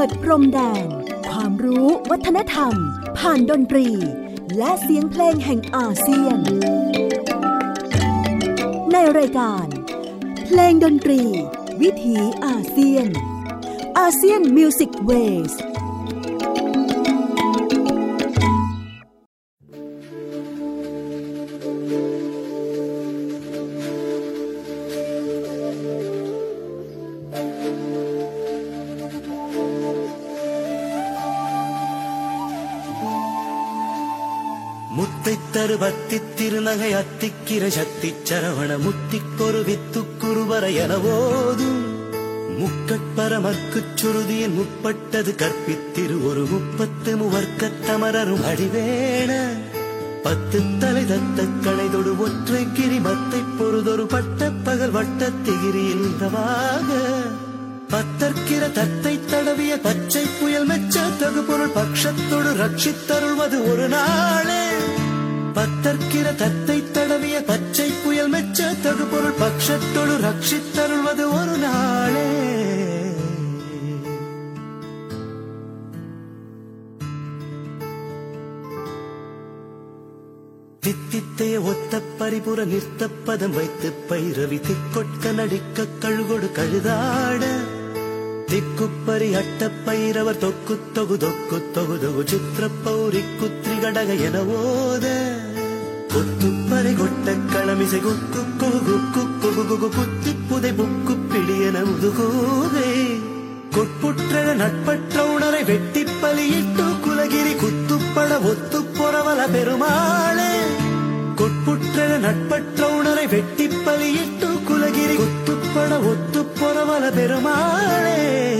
ดพรมแดนความรู้วัฒนธรรมผ่านดนตรีและเสียงเพลงแห่งอาเซียนในรายการเพลงดนตรีวิถีอาเซียนอาเซียนมิวสิกเวส മുത്തിത്തരു പത്തിത്തിരുനകை അത്തിക്കിര ശക്തിച്ചരവണ മുത്തിക്കൊരു വിത്തുക്കുറുവര എനവോതും മുക്കട്പരമർക്കുச் ചുരുതിയിൽ മുപ്പട്ടത് കற்பித்திரு ഒരു 30 മുവർക്കത്തമരരും അടിവേണ പത്ത് തலை தத்தக்கணைதொடு ஒற்றை கிரிமத்தை பொறுதொரு பட்டப்பகல் வட்டத்திகிரியில் நின்றவாக பத்தற்கிற தத்தை தடவிய பச்சை புயல் மெச்ச தகு பொருள் பட்சத்தொடு ரட்சித்தருள்வது ஒரு நாளே பத்தற்கிற தத்தை தடவிய பச்சை புயல் மெச்ச தகு பொருள் பட்சத்தொடு ரட்சித்தருள்வது ஒரு நாளே தித்தித்தைய ஒத்த பரிபுற நிறுத்தப்பதம் வைத்து பைரவி திக்கொட்க நடிக்க கழுகொடு கழுதாட திக்குப்பரி அட்ட பைரவர் தொக்கு தொகு தொக்கு தொகு தொகு சித்திர பௌரி குத்ரி கடக என ஓத கொத்துப்பறை கொட்ட களமிசை குக்கு கொகு குக்கு குகு குத்தி புதை புக்கு பிடியன முதுகூவே கொட்புற்ற நட்பற்ற உணரை வெட்டி பலியிட்டு குலகிரி குத்துப்பட ஒத்து பொறவல பெருமாளே கொட்புற்ற நட்பற்ற உணரை வெட்டி பலியிட்டு குலகிரி குத்துப்பட ஒத்து பொறவல பெருமாளே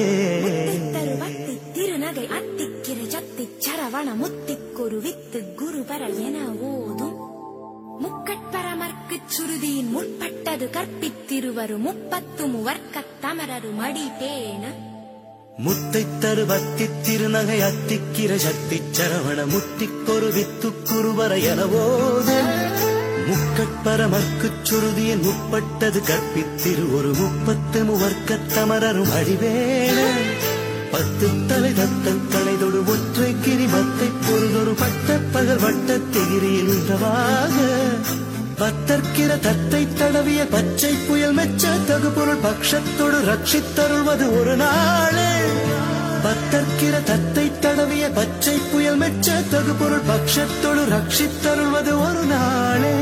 திருநகை அத்திக்கிற சத்தி சரவண முத்திக்கொரு வித்து குருபர என ஓதும் முக்கட்பரமர்க்குச் சுருதியின் முற்பட்டது கற்பித்திருவரு 30 முவர்க்கத்தமரரு மடிபேன முத்தைத்தரு பத்தித்திருநகை அத்திக்கிற சக்திச்சரவண முத்திக்கொரு வித்துக்குருவர எனவோது முக்கட்பரமர்க்குச் சுருதியின் முற்பட்டது கற்பித்திரு ஒரு 30 முவர்க்கத்தமரரும் அடிவேண பத்து தலை தத்தக்கணைதொடு ஒற்றை கிரிமத்தை பொறுதொரு பட்டப்பகல் வட்டத்திகிரியில் நின்றவாக பத்தற்கிற தத்தை தடவிய பச்சை புயல் மெச்ச தகு பொருள் பட்சத்தொடு ரட்சித்தருள்வது ஒரு நாளே பத்தற்கிற தத்தை தடவிய பச்சை புயல் மெச்ச தகு பொருள் பட்சத்தொடு ரட்சித்தருள்வது ஒரு நாளே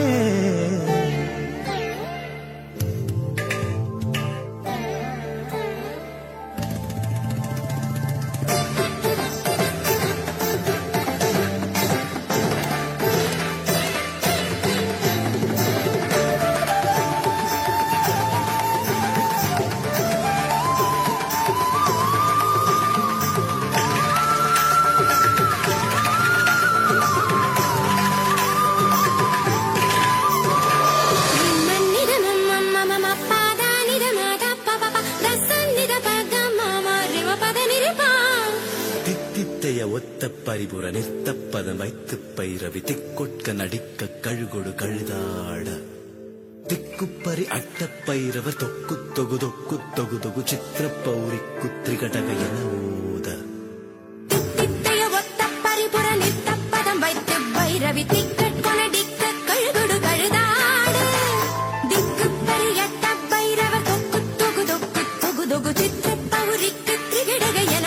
ஒத்த பரிபுற நிறுத்தப்பதம் வைத்து பைரவி திக்கொட்க நடிக்க கழுகொடு கழுதாட திக்குப்பரி அட்ட பைரவர் தொக்கு தொகு தொக்கு தொகு தொகு சித்திர பௌரி குத்ரி கடக என ஓத ஒத்த பரிபுற நிறுத்தப்பதம் வைத்து பைரவி திக்கொட்க நடிக்க கழுகொடு கழுதாட திக்குப்பரி அட்ட பைரவர் தொக்கு தொகு தொக்கு தொகு தொகு சித்திர பௌரி குத்ரி கடக என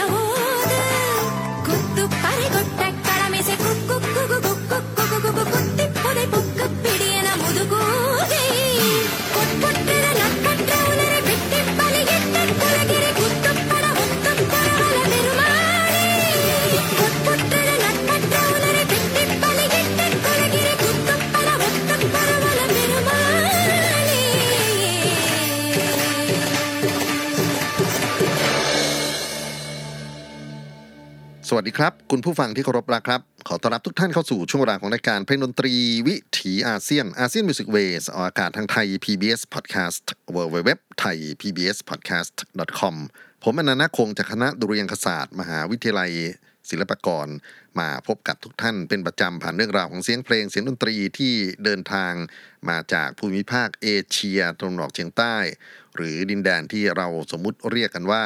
பறை கொட்ட களமிசை குக்கு குகு குக்கு குகு குகு குத்தி புதை புக்கு பிடியன முதுகூதை கொட்புற்ற நட்பற்ற உணரை வெட்டி பலியிட்ட குலகிரி குத்துப்பட ஒத்து பரவல பெருமாளே கொட்புற்ற நட்பற்ற உணரை வெட்டி பலியிட்ட குலகிரி குத்துப்பட ஒத்து பரவல பெருமாளே สวัสดีครับคุณผู้ฟังที่เคารพรักครับขอต้อนรับทุกท่านเข้าสู่ช่วงเวลาของรายการเพลงดนตรีวิถีอาเซียนอาเซียนมิวสิกเวสออกอากาศทางไทย PBS Podcast www.thaipbspodcast.com ผมอนันต์คงจากคณะดุริยางคศาสตร์มหาวิทยาลัยศิลปากรมาพบกับทุกท่านเป็นประจำผ่านเรื่องราวของเสียงเพลงเสียงดนตรีที่เดินทางมาจากภูมิภาคเอเชียตะวันออกเฉียงใต้หรือดินแดนที่เราสมมุติเรียกกันว่า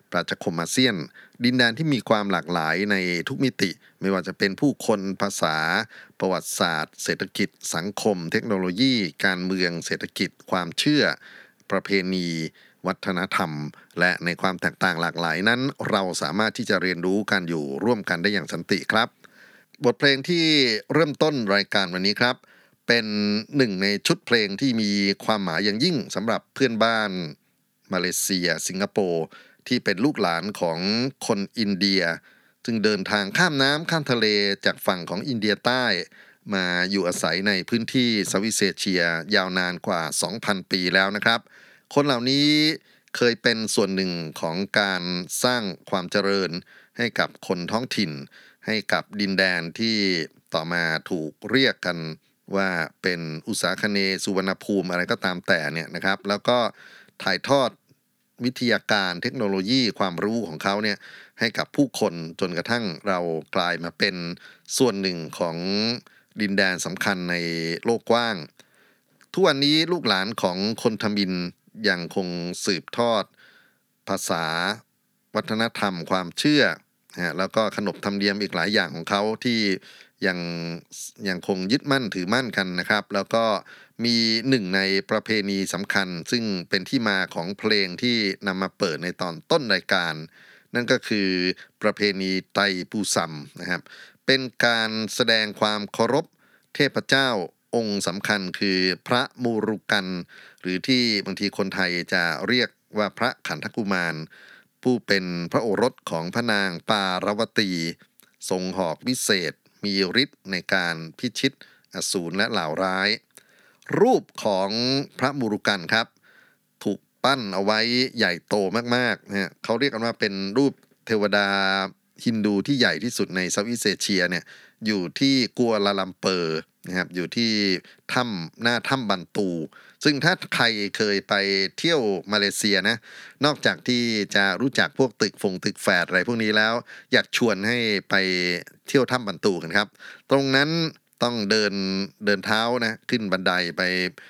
ปราชญ์คมอาเซียนดินแดนที่มีความหลากหลายในทุกมิติไม่ว่าจะเป็นผู้คนภาษาประวัติศาสตร์เศรษฐกิจสังคมเทคโนโลยีการเมืองเศรษฐกิจความเชื่อประเพณีวัฒนธรรมและในความแตกต่างหลากหลายนั้นเราสามารถที่จะเรียนรู้กันอยู่ร่วมกันได้อย่างสันติครับบทเพลงที่เริ่มต้นรายการวันนี้ครับเป็นหนึ่งในชุดเพลงที่มีความหมายอย่างยิ่งสำหรับเพื่อนบ้านมาเลเซียสิงคโปร์ที่เป็นลูกหลานของคนอินเดียซึ่งเดินทางข้ามน้ำข้ามทะเลจากฝั่งของอินเดียใต้มาอยู่อาศัยในพื้นที่เซาท์อีสต์เอเชียยาวนานกว่า 2,000 ปีแล้วนะครับคนเหล่านี้เคยเป็นส่วนหนึ่งของการสร้างความเจริญให้กับคนท้องถิ่นให้กับดินแดนที่ต่อมาถูกเรียกกันว่าเป็นอุษาคเนย์สุวรรณภูมิอะไรก็ตามแต่เนี่ยนะครับแล้วก็ถ่ายทอดวิทยาการเทคโนโลยีความรู้ของเขาเนี่ยให้กับผู้คนจนกระทั่งเรากลายมาเป็นส่วนหนึ่งของดินแดนสำคัญในโลกกว้างทุกวันนี้ลูกหลานของคนทมิฬยังคงสืบทอดภาษาวัฒนธรรมความเชื่อแล้วก็ขนบธรรมเนียมอีกหลายอย่างของเขาที่ยังคงยึดมั่นถือมั่นกันนะครับแล้วก็มีหนึ่งในประเพณีสำคัญซึ่งเป็นที่มาของเพลงที่นำมาเปิดในตอนต้นรายการนั่นก็คือประเพณีไตปูซัมนะครับเป็นการแสดงความเคารพเทพเจ้าองค์สำคัญคือพระมูรุกันหรือที่บางทีคนไทยจะเรียกว่าพระขันธกุมารผู้เป็นพระโอรสของพระนางปารวตีทรงหอกวิเศษมีฤทธิ์ในการพิชิตอสูรและเหล่าร้ายรูปของพระมูรุกันครับถูกปั้นเอาไว้ใหญ่โตมากๆนะเขาเรียกกันว่าเป็นรูปเทวดาฮินดูที่ใหญ่ที่สุดในเซาท์อีสต์เอเชียเนี่ยอยู่ที่กัวลาลัมเปอร์นะครับอยู่ที่หน้าถ้ำบันตูซึ่งถ้าใครเคยไปเที่ยวมาเลเซียนะนอกจากที่จะรู้จักพวกตึกแฝดอะไรพวกนี้แล้วอยากชวนให้ไปเที่ยวถ้ำบันตูกันครับตรงนั้นต้องเดินเท้านะขึ้นบันไดไป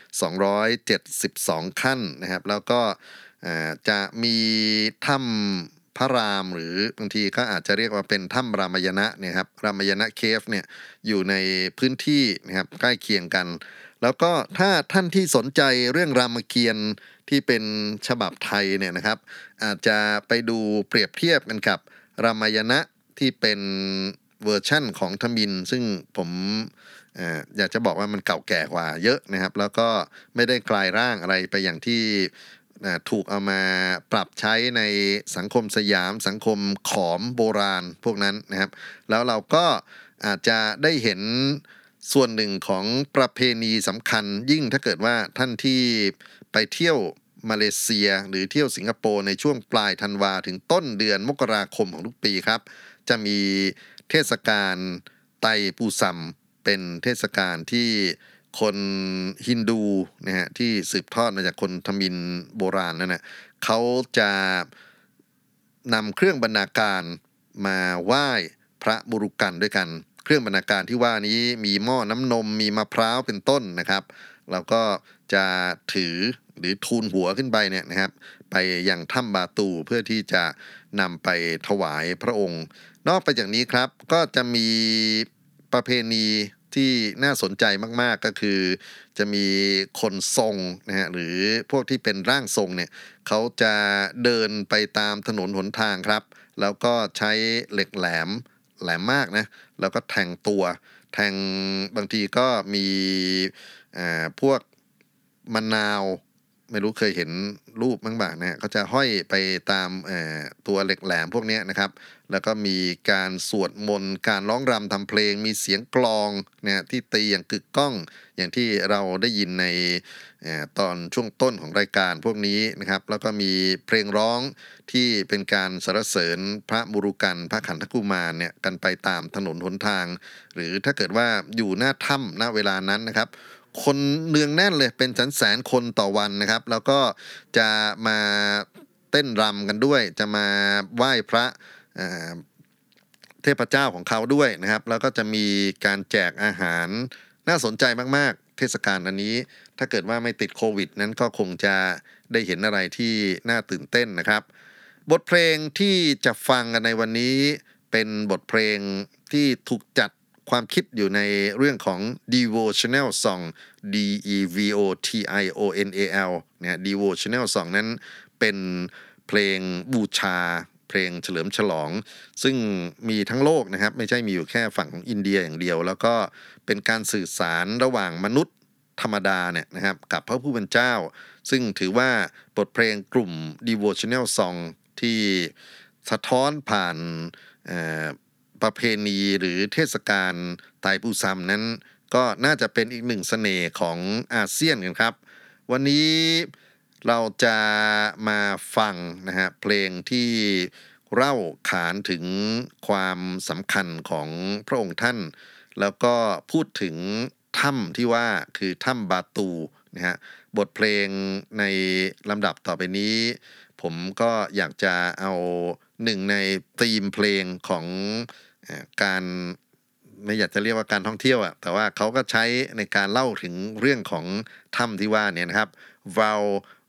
272ขั้นนะครับแล้วก็จะมีถ้ำพระรามหรือบางทีก็อาจจะเรียกว่าเป็นถ้ำรามายณะเนี่ยครับรามายณะเคฟเนี่ยอยู่ในพื้นที่นะครับใกล้เคียงกันแล้วก็ถ้าท่านที่สนใจเรื่องรามเกียรติ์ที่เป็นฉบับไทยเนี่ยนะครับอาจจะไปดูเปรียบเทียบกันกับรามายณะที่เป็นเวอร์ชั่นของทมิฬซึ่งผมอยากจะบอกว่ามันเก่าแก่กว่าเยอะนะครับแล้วก็ไม่ได้กลายร่างอะไรไปอย่างที่ถูกเอามาปรับใช้ในสังคมสยามสังคมขอมโบราณพวกนั้นนะครับแล้วเราก็อาจจะได้เห็นส่วนหนึ่งของประเพณีสำคัญยิ่งถ้าเกิดว่าท่านที่ไปเที่ยวมาเลเซียหรือเที่ยวสิงคโปร์ในช่วงปลายธันวาถึงต้นเดือนมกราคมของทุกปีครับจะมีเทศกาลไตปูซัมเป็นเทศกาลที่คนฮินดูนะฮะที่สืบทอดมาจากคนทมิฬโบราณนั่นนะเขาจะนำเครื่องบรรณาการมาไหว้พระบุรุกันด้วยกันเครื่องบรรณาการที่ว่านี้มีหม้อน้ำนมมีมะพร้าวเป็นต้นนะครับแล้วก็จะถือหรือทูลหัวขึ้นไปเนี่ยนะครับไปยังถ้ำบาตูเพื่อที่จะนำไปถวายพระองค์นอกไปจากนี้ครับก็จะมีประเพณีที่น่าสนใจมากๆก็คือจะมีคนทรงนะฮะหรือพวกที่เป็นร่างทรงเนี่ยเขาจะเดินไปตามถนนหนทางครับแล้วก็ใช้เหล็กแหลมมากนะแล้วก็แทงบางทีก็มีพวกมะนาวไม่รู้เคยเห็นรูปบ้างบ่านะเขาจะห้อยไปตามตัวเหล็กแหลมพวกนี้นะครับแล้วก็มีการสวดมนต์การร้องรำทำเพลงมีเสียงกลองนะที่ตีอย่างกึกก้องอย่างที่เราได้ยินในตอนช่วงต้นของรายการพวกนี้นะครับแล้วก็มีเพลงร้องที่เป็นการสรรเสริญพระมุรุกันพระขันธกุมารเนี่ยกันไปตามถนนหนทางหรือถ้าเกิดว่าอยู่หน้าถ้ำณเวลานั้นนะครับคนเนืองแน่นเลยเป็นแสนคนต่อวันนะครับแล้วก็จะมาเต้นรำกันด้วยจะมาไหว้พระเทพเจ้าของเขาด้วยนะครับแล้วก็จะมีการแจกอาหารน่าสนใจมากๆเทศกาลอันนี้ถ้าเกิดว่าไม่ติดโควิดนั้นก็คงจะได้เห็นอะไรที่น่าตื่นเต้นนะครับบทเพลงที่จะฟังกันในวันนี้เป็นบทเพลงที่ถูกจัดความคิดอยู่ในเรื่องของ devotional song DEVOTIONAL เนี่ย devotional song นั้นเป็นเพลงบูชาเพลงเฉลิมฉลองซึ่งมีทั้งโลกนะครับไม่ใช่มีอยู่แค่ฝั่งของอินเดียอย่างเดียวแล้วก็เป็นการสื่อสารระหว่างมนุษย์ธรรมดาเนี่ยนะครับกับพระผู้เป็นเจ้าซึ่งถือว่าบทเพลงกลุ่ม devotional song ที่สะท้อนผ่านประเพณีหรือเทศกาลไตรปูซัมนั้นก็น่าจะเป็นอีกหนึ่งเสน่ห์ของอาเซียนกันครับวันนี้เราจะมาฟังนะฮะเพลงที่เล่าขานถึงความสำคัญของพระองค์ท่านแล้วก็พูดถึงถ้ำที่ว่าคือถ้ำบาตูนะฮะบทเพลงในลำดับต่อไปนี้ผมก็อยากจะเอาหนึ่งในธีมเพลงของการไม่อยากจะเรียกว่าการท่องเที่ยวอ่ะแต่ว่าเขาก็ใช้ในการเล่าถึงเรื่องของถ้ำที่ว่าเนี่ยนะครับ Val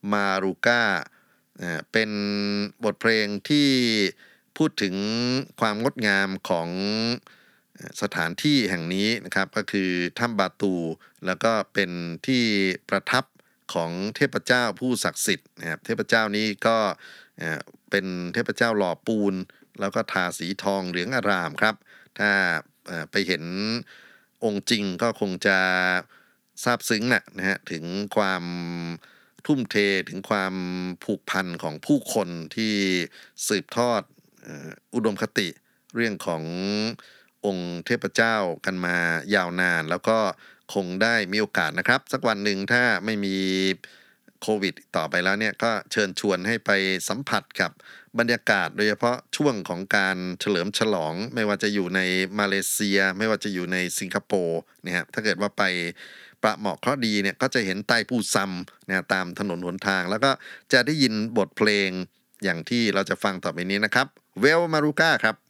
Maruga เป็นบทเพลงที่พูดถึงความงดงามของสถานที่แห่งนี้นะครับก็คือถ้ำบาตูแล้วก็เป็นที่ประทับของเทพเจ้าผู้ศักดิ์สิทธิ์นะครับเทพเจ้านี้ก็เป็นเทพเจ้าหล่อปูนแล้วก็ทาสีทองเหลืองอารามครับถ้าไปเห็นองค์จริงก็คงจะซาบซึ้งนะฮะถึงความทุ่มเทถึงความผูกพันของผู้คนที่สืบทอดอุดมคติเรื่องขององค์เทพเจ้ากันมายาวนานแล้วก็คงได้มีโอกาสนะครับสักวันหนึ่งถ้าไม่มีโควิดต่อไปแล้วเนี่ยก็เชิญชวนให้ไปสัมผัสกับบรรยากาศโดยเฉพาะช่วงของการเฉลิมฉลองไม่ว่าจะอยู่ในมาเลเซียไม่ว่าจะอยู่ในสิงคโปร์เนี่ยถ้าเกิดว่าไปประเหมาะเคราะห์ดีเนี่ยก็จะเห็นไตรปูซัมเนี่ยตามถนนหนทางแล้วก็จะได้ยินบทเพลงอย่างที่เราจะฟังต่อไปนี้นะครับเวลมารูก้าครับ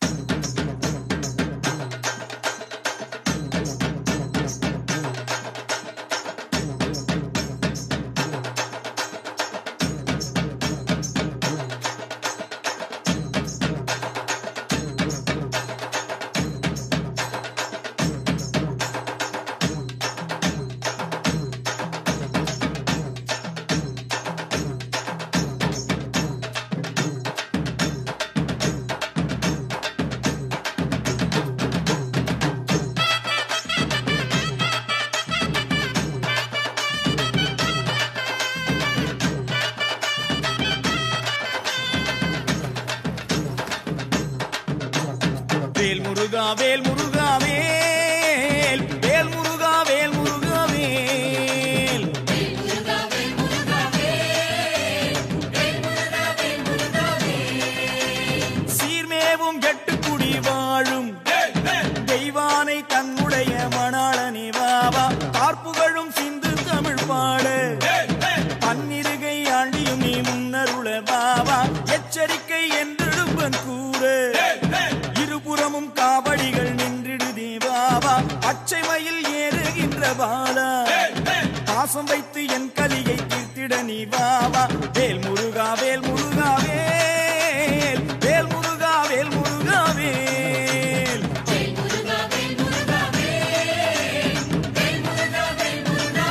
வேல் முருகா வேல் வேல் முருகா வேல் முருகா வேல் வேல் முருகா வேல் முருகா வேல் வேல் முருகா வேல் முருகா வேல் சீர்மேவும் எட்டுக்குடி வாழும் தெய்வானை தன்னுடைய மணாளனே வாவா பார்ப்புகளும் சிந்து தமிழ் பாட பன்னிருகை ஆண்டியும் நீ முன்னருள வாவா எச்சரிக்கை என்றெடுப்பன் கூற இருபுறமும் காவடிகள் நின்றிடுதே வாவா பச்சை மயில் ஏறுகின்ற பாலா பாசம் வைத்து என் கலியை தீர்த்திட நீ வாவா வேல் முருகா வேல் முருகா வேல் வேல் முருகா வேல் முருகா வேல் வேல் முருகா வேல் முருகா வேல் வேல் முருகா வேல் முருகா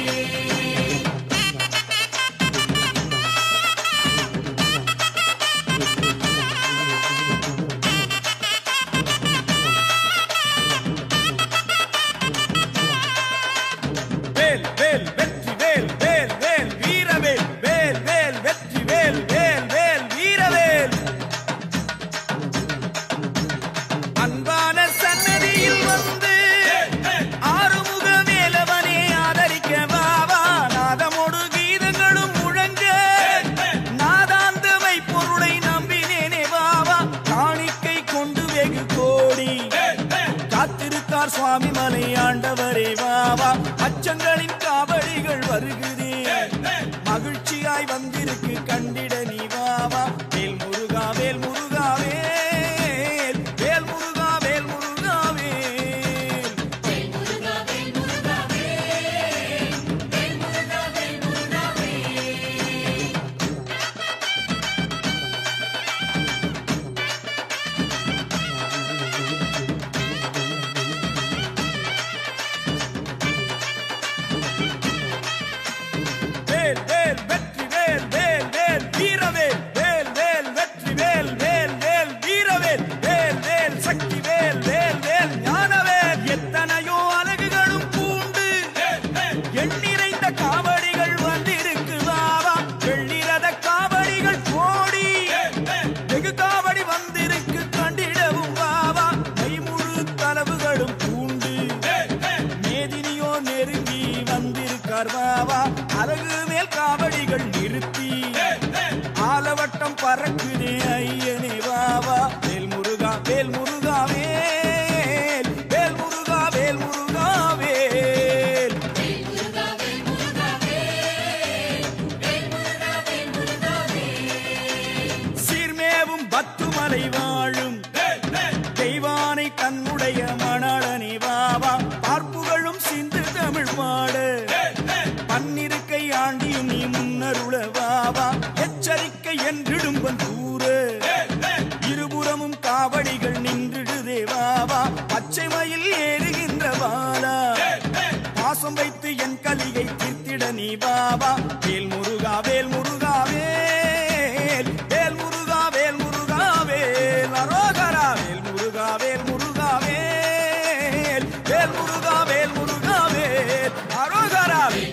வேல் வேல் வெற்றி வேல் வேல் வேல் வீரவேல் வேல் வேல் வெற்றி வேல் வேல் வேல் வீரவேல் அன்பான சன்னதியில் வந்து ஆறுமுக வேலவனே ஆதரிக்க வாவா நாதமோடு கீதங்களும் முழங்க நாதாந்தமை பொருளை நம்பினேனே வாவா காணிக்கை கொண்டு வெகு கோடி காத்திருக்கார் சுவாமி மலை ஆண்டவரே வாவா அச்சங்களின் காவடிகள் வருகுதே மகிழ்ச்சியாய் வந்திருக்கு கண்டிட நீ வாவா வேல் முருகா வேல் முருகா வேல் வேல் முருகா வேல் முருகா வேல் வேல் முருகா வேல் முருகா வேல் வேல் முருகா வேல் முருகா வேல் ஐயனே வாவா வேல் முருகா வேல் முருகா வேல் வேல் முருகா வேல் முருகா வேல் சீர்மேவும் பத்துமலை வாழும் தெய்வானை தன்னுடைய மணாளனே வாவா பார்ப்புகளும் சிந்து தமிழ் பாடு பன்னிருக்கை ஆண்டியும் நீ முன்னருள வாவா எச்சரிக்கை என்றிடும்பன் கூறு இருபுறமும் காவடிகள் நின்றுடுதே வாவா பச்சை மயில் ஏறுகின்ற வாலா பாசம் வைத்து என் கலியை தீர்த்திட நீ பாபா வேல் முருகா வேல் முருகா வேல் வேல் முருகா வேல் முருகா வேல் அரோகரா வேல் முருகா வேல் முருகா வேல் வேல் முருகா வேல் முருகா வேல் அரோகரா வேல்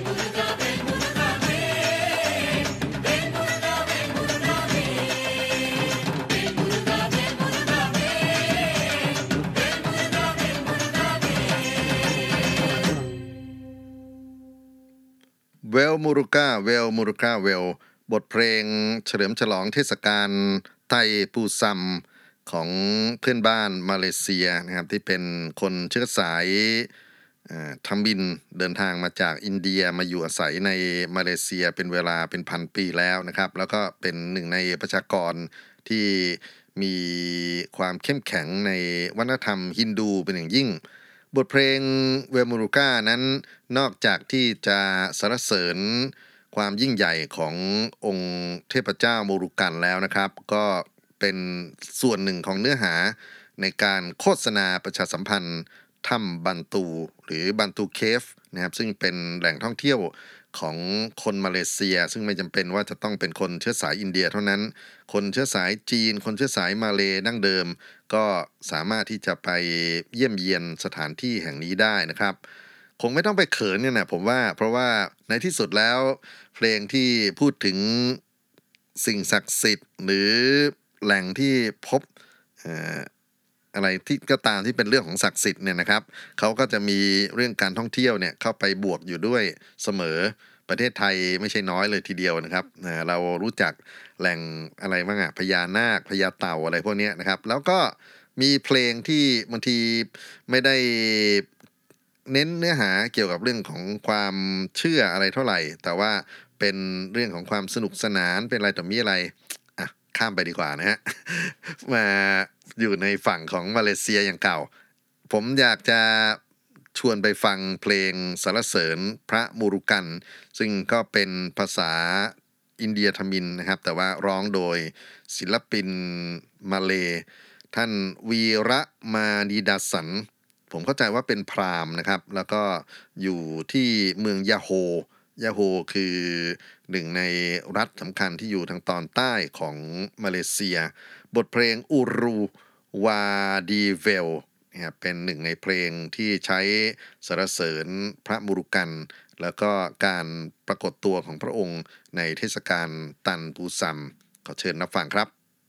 เวลมูรุก้าเวลมูรุก้าเวลบทเพลงเฉลิมฉลองเทศกาลไทยปูซัมของเพื่อนบ้านมาเลเซียนะครับที่เป็นคนเชื้อสายทัมบินเดินทางมาจากอินเดียมาอยู่อาศัยในมาเลเซียเป็นเวลาเป็นพันปีแล้วนะครับแล้วก็เป็นหนึ่งในประชากรที่มีความเข้มแข็งในวัฒนธรรมฮินดูเป็นอย่างยิ่งบทเพลงเวลมูรุก้านั้นนอกจากที่จะสรรเสริญความยิ่งใหญ่ขององค์เทพเจ้าโมรุกันแล้วนะครับก็เป็นส่วนหนึ่งของเนื้อหาในการโฆษณาประชาสัมพันธ์ถ้ำบันตูหรือบันตูเคฟนะครับซึ่งเป็นแหล่งท่องเที่ยวของคนมาเลเซียซึ่งไม่จำเป็นว่าจะต้องเป็นคนเชื้อสายอินเดียเท่านั้นคนเชื้อสายจีนคนเชื้อสายมาเลดั้งเดิมก็สามารถที่จะไปเยี่ยมเยียนสถานที่แห่งนี้ได้นะครับคงไม่ต้องไปเขินเนี่ยนะผมว่าเพราะว่าในที่สุดแล้วเพลงที่พูดถึงสิ่งศักดิ์สิทธิ์หรือแหล่งที่พบอะไรที่ก็ตามที่เป็นเรื่องของศักดิ์สิทธิ์เนี่ยนะครับเขาก็จะมีเรื่องการท่องเที่ยวเนี่ยเข้าไปบวกอยู่ด้วยเสมอประเทศไทยไม่ใช่น้อยเลยทีเดียวนะครับเรารู้จักแหล่งอะไรบ้างพญานาคพญาเต่าอะไรพวกนี้นะครับแล้วก็มีเพลงที่บางทีไม่ได้เน้นเนื้อหาเกี่ยวกับเรื่องของความเชื่ออะไรเท่าไหร่แต่ว่าเป็นเรื่องของความสนุกสนานเป็นอะไรต่อมีอะไรข้ามไปดีกว่านะฮะมาอยู่ในฝั่งของมาเลเซียอย่างเก่าผมอยากจะชวนไปฟังเพลงสรรเสริญพระมูรุกันซึ่งก็เป็นภาษาอินเดียทมิฬนะครับแต่ว่าร้องโดยศิลปินมาเลท่านวีระมาดีดาสันผมเข้าใจว่าเป็นพราหมณ์นะครับแล้วก็อยู่ที่เมืองยาโฮคือหนึ่งในรัฐสำคัญที่อยู่ทางตอนใต้ของมาเลเซียบทเพลงอูรูวาดีเวลนะครับเป็นหนึ่งในเพลงที่ใช้สรรเสริญพระมูรุกันแล้วก็การปรากฏตัวของพระองค์ในเทศกาลตันปูซัมขอเชิญรับฟังครับ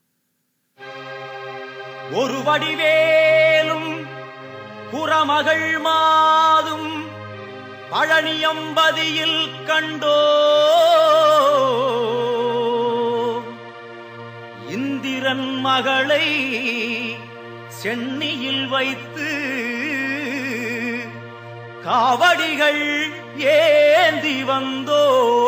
ஒரு வடிவேலும் புறமகள் மாதும் பழனியம்பதியில் கண்டோ இந்திரன் மகளை சென்னியில் வைத்து காவடிகள் ஏந்தி வந்தோ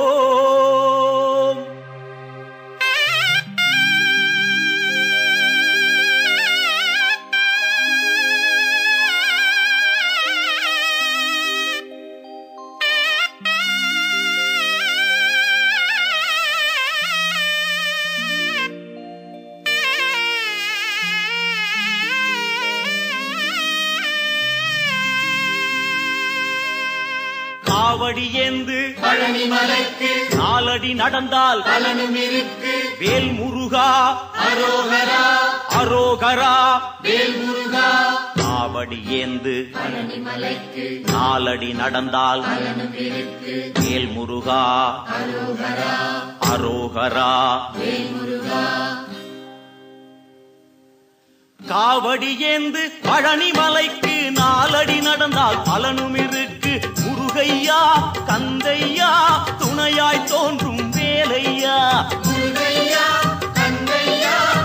காவடி ஏந்து பழனி மலைக்கு நாலடி நடந்தால் பலனும் இருக்கு வேல் முருகா அரோகரா அரோகரா வேல் முருகா காவடி ஏந்து பழனி மலைக்கு நாலடி நடந்தால் பலனும் இருக்கு வேல் முருகா அரோகரா அரோகரா வேல் முருகா காவடி ஏந்து பழனி மலைக்கு நாலடி நடந்தால் பலனும் இருக்கு முருகையா கந்தையா துணையாய் தோன்றும் வேலையா முருகையா கந்தையா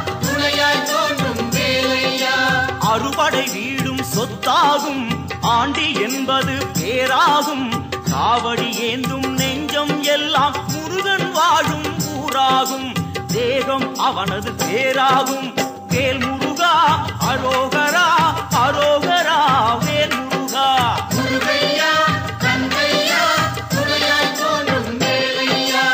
ஊராகும், ஆண்டி என்பது பேராகும். காவடி ஏந்தும் நெஞ்சம் எல்லாம் முருகன் வாழும் ஊராகும். தேகம் அவனது பேராகும். வேல் முருகா அரோகரா, அரோகரா வேல் முருகா. முருகையா கந்தையா துணையாய் தோன்றும் வேலையா.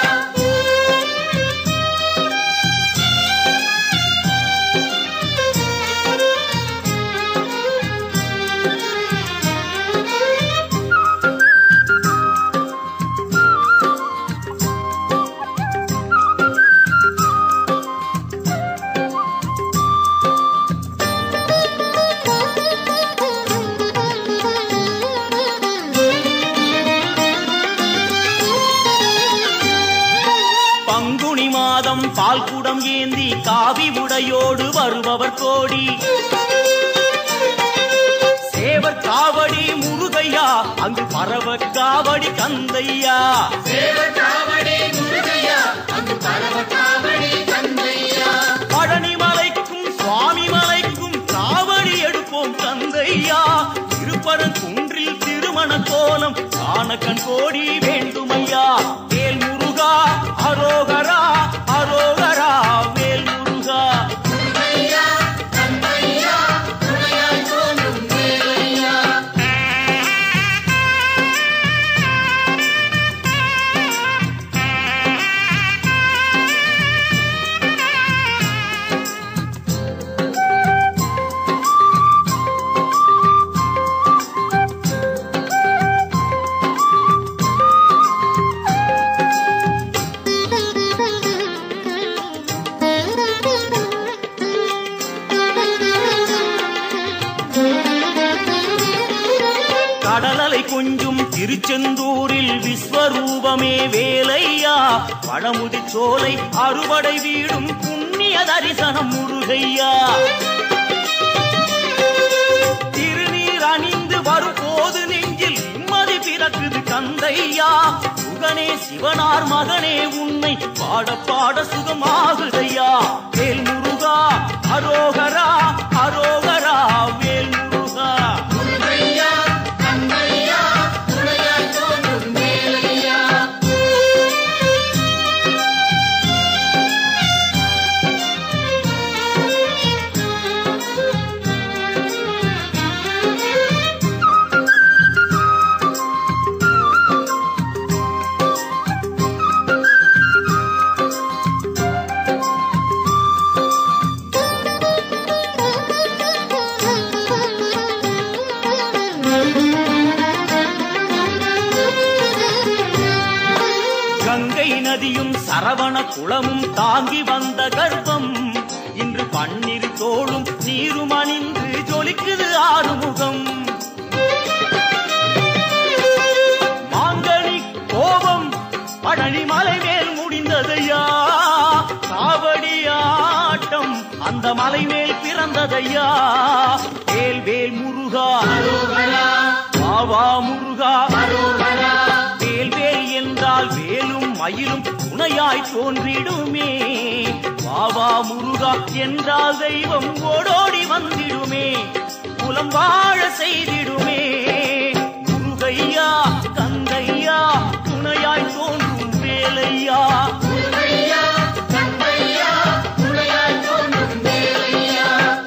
பால்குடம் ஏந்தி காவி உடையோடு வருபவர் கோடி. சேவர் காவடி முருகையா, அங்கு பரவ காவடி கந்தையா. சேவர் காவடி முருகையா, அங்கு பரவ காவடி கந்தையா. பழனி மலைக்கும் சுவாமி மலைக்கும் காவடி எடுப்போம் கந்தையா. திருப்பரங்குன்றில் திருமண கோலம் காண கண் கோடி வேண்டுமையா. வேல் முருகா அரோகரா, அரோகரா வேல் முருகா. முருகையா கந்தையா துணையாய் தோன்றும் வேலையா. கடலலை கொஞ்சும் திருச்செந்தூரில் விஸ்வரூபமே வேலையா. பழமுதி சோலை அறுவடை வீடும் புண்ணிய தரிசனம் முருகையா. திருநீர் அணிந்து வரும் போது நெஞ்சில் நிம்மதி பிறக்குது கந்தையா. சுகனே சிவனார் மகனே உன்னை பாட பாட சுகமாகுதையா. வேல் முருகா அரோகரா, அரோகரா வேல் முருகா. முருகையா கந்தையா துணையாய் தோன்றும் வேலையா. கங்கை நதியும் சரவண குளமும் தாங்கி வந்த கர்ப்பம் இன்று பன்னீர் தோளும் நீரும் அணிந்து ஜொலிக்குது ஆறுமுகம். மாங்கனி கோபம் பழனி மலை மேல் முடிந்ததையா. காவடி ஆட்டம் அந்த மலை மேல் பிறந்ததையா. வேல் வேல் முருகா வாவா முருகா. வேல் வேல் என்றால் வேலும் மயிலும் துணையாய் தோன்றிடுமே. வாவா முருகா என்றால் தெய்வம் ஓடோடி வந்திடுமே. குலம் வாழ செய்திடுமே. முருகையா கந்தையா துணையாய் தோன்றும் வேலையா. முருகையா கந்தையா துணையாய் தோன்றும் வேலையா.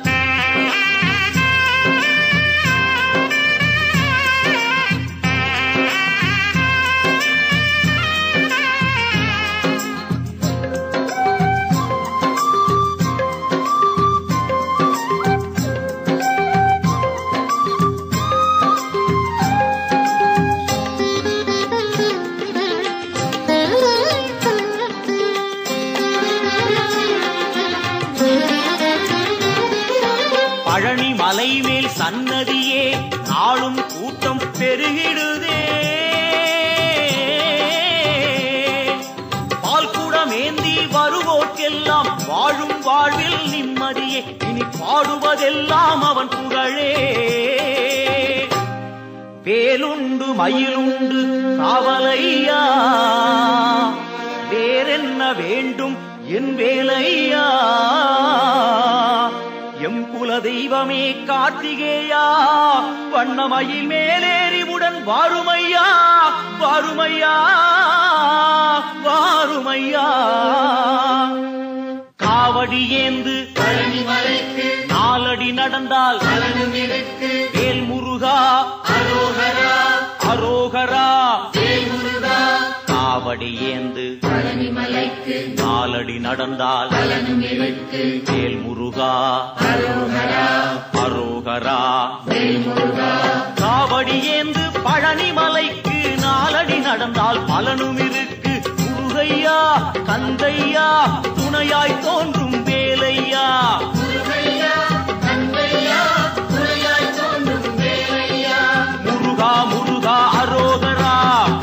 பழனி மலை மேல் சன்னதியே நாளும் கூட்டம் பெருகிடுதே. பால்குடமேந்தி வருவோர்க்கெல்லாம் வாழும் வாழ்வில் நிம்மதியே. இனி பாடுவதெல்லாம் அவன் புகழே. வேலுண்டு மயிலுண்டு காவலையா. வேறென்ன வேண்டும் என் வேலையா. எம் குல குலதெய்வமே கார்த்திகேயா வண்ணமயில் மேலேறிவுடன் வாருமையா வாருமையா வாருமையா காவடி ஏந்து பழனிமலைக்கு நாலடி நடந்தால் வேல் முருகா அரோகரா அரோகரா வேல் முருகா காவடி ஏந்து பழனிமலைக்கு நாலடி நடந்தால் வேல் முருகா அரோகரா அரோகரா வேல் முருகா காவடி ஏந்து பழனிமலைக்கு நாலடி நடந்தால் பலனும் இருக்கு முருகையா கந்தையா துணையாய் தோன்றும் வேலையா முருகா முருகா அரோகரா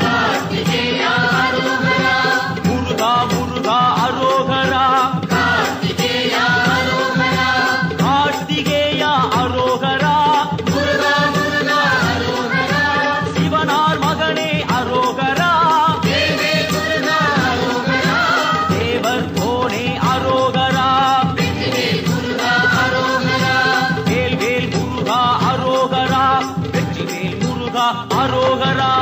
முருகா முருகா அரோகரா கார்த்திகேயா அரோகரா சிவனார் மகனே அரோகரா தேவர் கோனே அரோகரா வேல் வேல் முருகா அரோகரா வெற்றி வேல் முருகா அரோகரா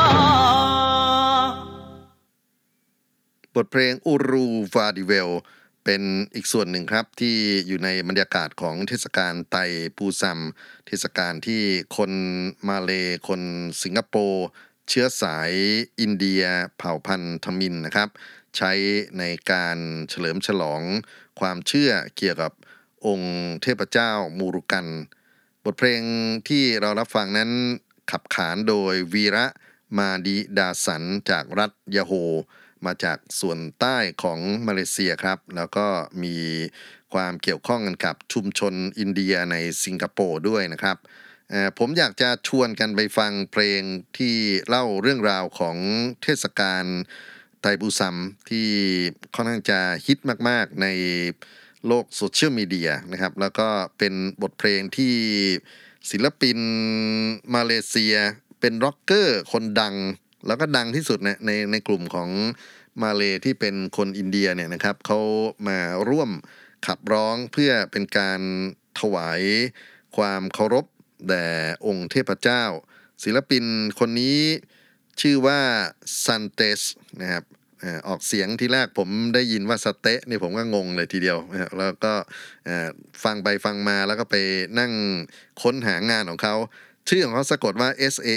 บทเพลงอูรูฟาดิเวลเป็นอีกส่วนหนึ่งครับที่อยู่ในบรรยากาศของเทศกาลไตปูซัมเทศกาลที่คนมาเลคนสิงคโปร์เชื้อสายอินเดียเผ่าพันธุ์ทมิฬนะครับใช้ในการเฉลิมฉลองความเชื่อเกี่ยวกับองค์เทพเจ้ามูรุกันบทเพลงที่เรารับฟังนั้นขับขานโดยวีระมาดีดาสันจากรัฐยะโฮมาจากส่วนใต้ของมาเลเซียครับแล้วก็มีความเกี่ยวข้องกันกับชุมชนอินเดียในสิงคโปร์ด้วยนะครับผมอยากจะชวนกันไปฟังเพลงที่เล่าเรื่องราวของเทศกาลไตรปูซัมที่ค่อนข้างจะฮิตมากๆในโลกโซเชียลมีเดียนะครับแล้วก็เป็นบทเพลงที่ศิลปินมาเลเซียเป็นร็อกเกอร์คนดังแล้วก็ดังที่สุดในกลุ่มของมาเลที่เป็นคนอินเดียเนี่ยนะครับเขามาร่วมขับร้องเพื่อเป็นการถวายความเคารพแด่องค์เทพเจ้าศิลปินคนนี้ชื่อว่าซันเตสนะครับออกเสียงที่แรกผมได้ยินว่าสเตะนี่ผมก็งงเลยทีเดียวแล้วก็ฟังไปฟังมาแล้วก็ไปนั่งค้นหางานของเขาชื่อของเขาสะกดว่า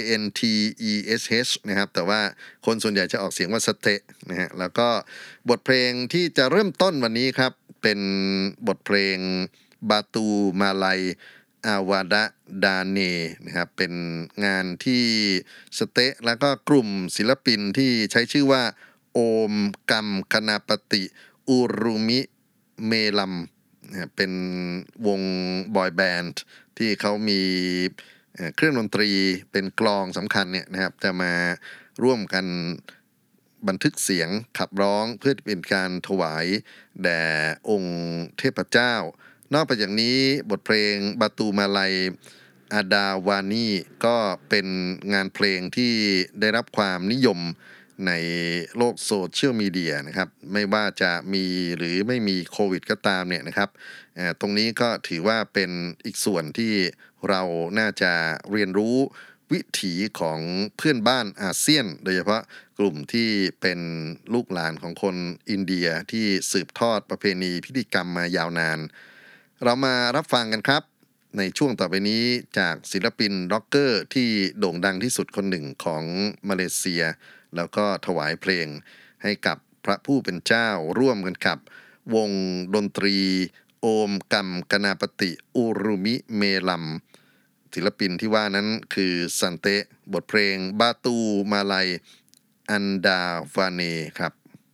SANTESH นะครับแต่ว่าคนส่วนใหญ่จะออกเสียงว่าสเตะนะฮะแล้วก็บทเพลงที่จะเริ่มต้นวันนี้ครับเป็นบทเพลงบาตูมาลัยอาวาดะดาเนนะครับเป็นงานที่สเตะแล้วก็กลุ่มศิลปินที่ใช้ชื่อว่าโอมกัมคณาปติอุรุมิเมลัมเป็นวงบอยแบนด์ที่เขามีเครื่องดนตรีเป็นกลองสำคัญเนี่ยนะครับจะมาร่วมกันบันทึกเสียงขับร้องเพื่อเป็นการถวายแด่องค์เทพเจ้านอกจากนี้บทเพลงบาตูมาลัยอาดาวานีก็เป็นงานเพลงที่ได้รับความนิยมในโลกโซเชียลมีเดียนะครับไม่ว่าจะมีหรือไม่มีโควิดก็ตามเนี่ยนะครับตรงนี้ก็ถือว่าเป็นอีกส่วนที่เราน่าจะเรียนรู้วิถีของเพื่อนบ้านอาเซียนโดยเฉพาะกลุ่มที่เป็นลูกหลานของคนอินเดียที่สืบทอดประเพณีพิธีกรรมมายาวนานเรามารับฟังกันครับในช่วงต่อไปนี้จากศิลปินร็อกเกอร์ที่โด่งดังที่สุดคนหนึ่งของมาเลเซียแล้วก็ถวายเพลงให้กับพระผู้เป็นเจ้าร่วมกันกับวงดนตรีโอมกัมกนาปติอุรุมิเมลัมศิลปินที่ว่านั้นคือซันเตะบทเพลงบาตูมาลัยอันดาวาเนครับ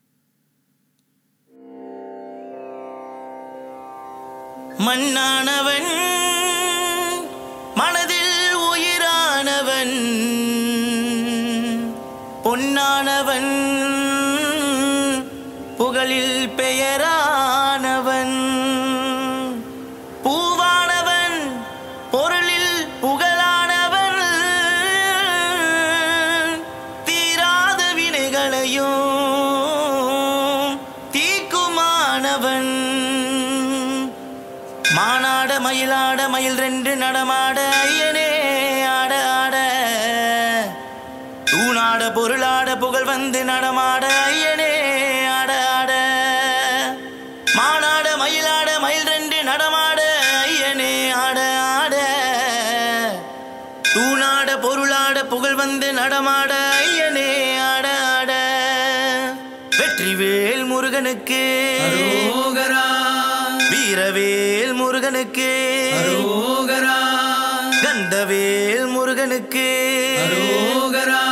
மண்ணானவன் மனதில் உயிரானவன் பொன்னானவன் புகழில் பெயரானவன் பூவானவன் பொருளில் புகழானவன் தீராத வினைகளையும் தீக்குமானவன் மானாட மயிலாட மயில் ரெண்டு நடமாட ஐயனே ஆட ஆட தூணாட பொருளாட புகழ் வந்து நடமாட ஐயனே ஆட ஆட மானாட மயிலாட மயில் ரெண்டு நடமாட ஐயனே ஆட ஆட தூணாட பொருளாட புகழ் வந்து நடமாட ஐயனே ஆட ஆட வெற்றிவேல் முருகனுக்கு அரோகரா வீரவேல் முருகனுக்கு அரோகரா கந்தவேல் முருகனுக்கு அரோகரா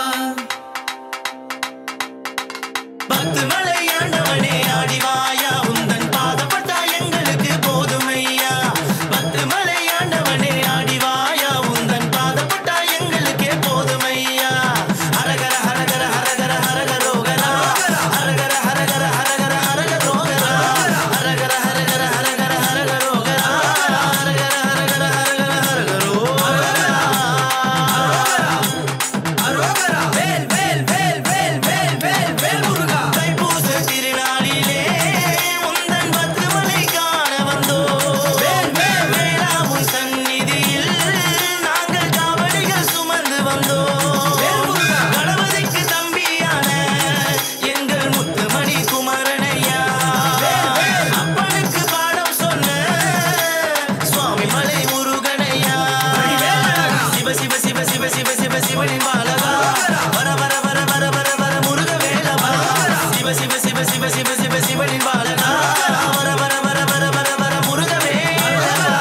பத்து மலையாண்டவனே ஆடிவாயா உந்தன் பாதப்பட்டா எங்களுக்கு போதுமையா பத்து மலையாண்டவனே ஆடிவாயா உந்தன் பாதப்பட்டா எங்களுக்கே போதுமையா ஹரகர ஹரகர ஹரகர ஹரகரோகரா ஹரகர ஹரகர ஹரகர ஹரகரோகரா ஹரகர ஹரகர ஹரகர ஹரகரோகரா ஹரகர ஹரகர ஹரகர ஹரகரோகரா அரோகரா வேல் வேல் வேல் வேல் வேல் வேல் வேல் முருகா தைப்பூச திருநாளிலே உந்தன் பத்து மலை காண வந்தோம் வேளாவும் சந்நிதியில் நாங்கள் காவடிகள் சுமந்து வந்தோம் கணபதிக்கு தம்பியான எங்கள் முத்துமணி குமரனையா அப்பனுக்கு பாடம் சொன்ன சுவாமி மலை முருகனையா சிவ சிவ சிவ சிவ சிவ சிவ சிவனின் பாலகா வர வர வர வர வர வர முருக வேலவா சிவ சிவ சிவ சிவ சிவ சிவ சிவனின் பாலகா வர வர வர வர வர வர முருக வேலவா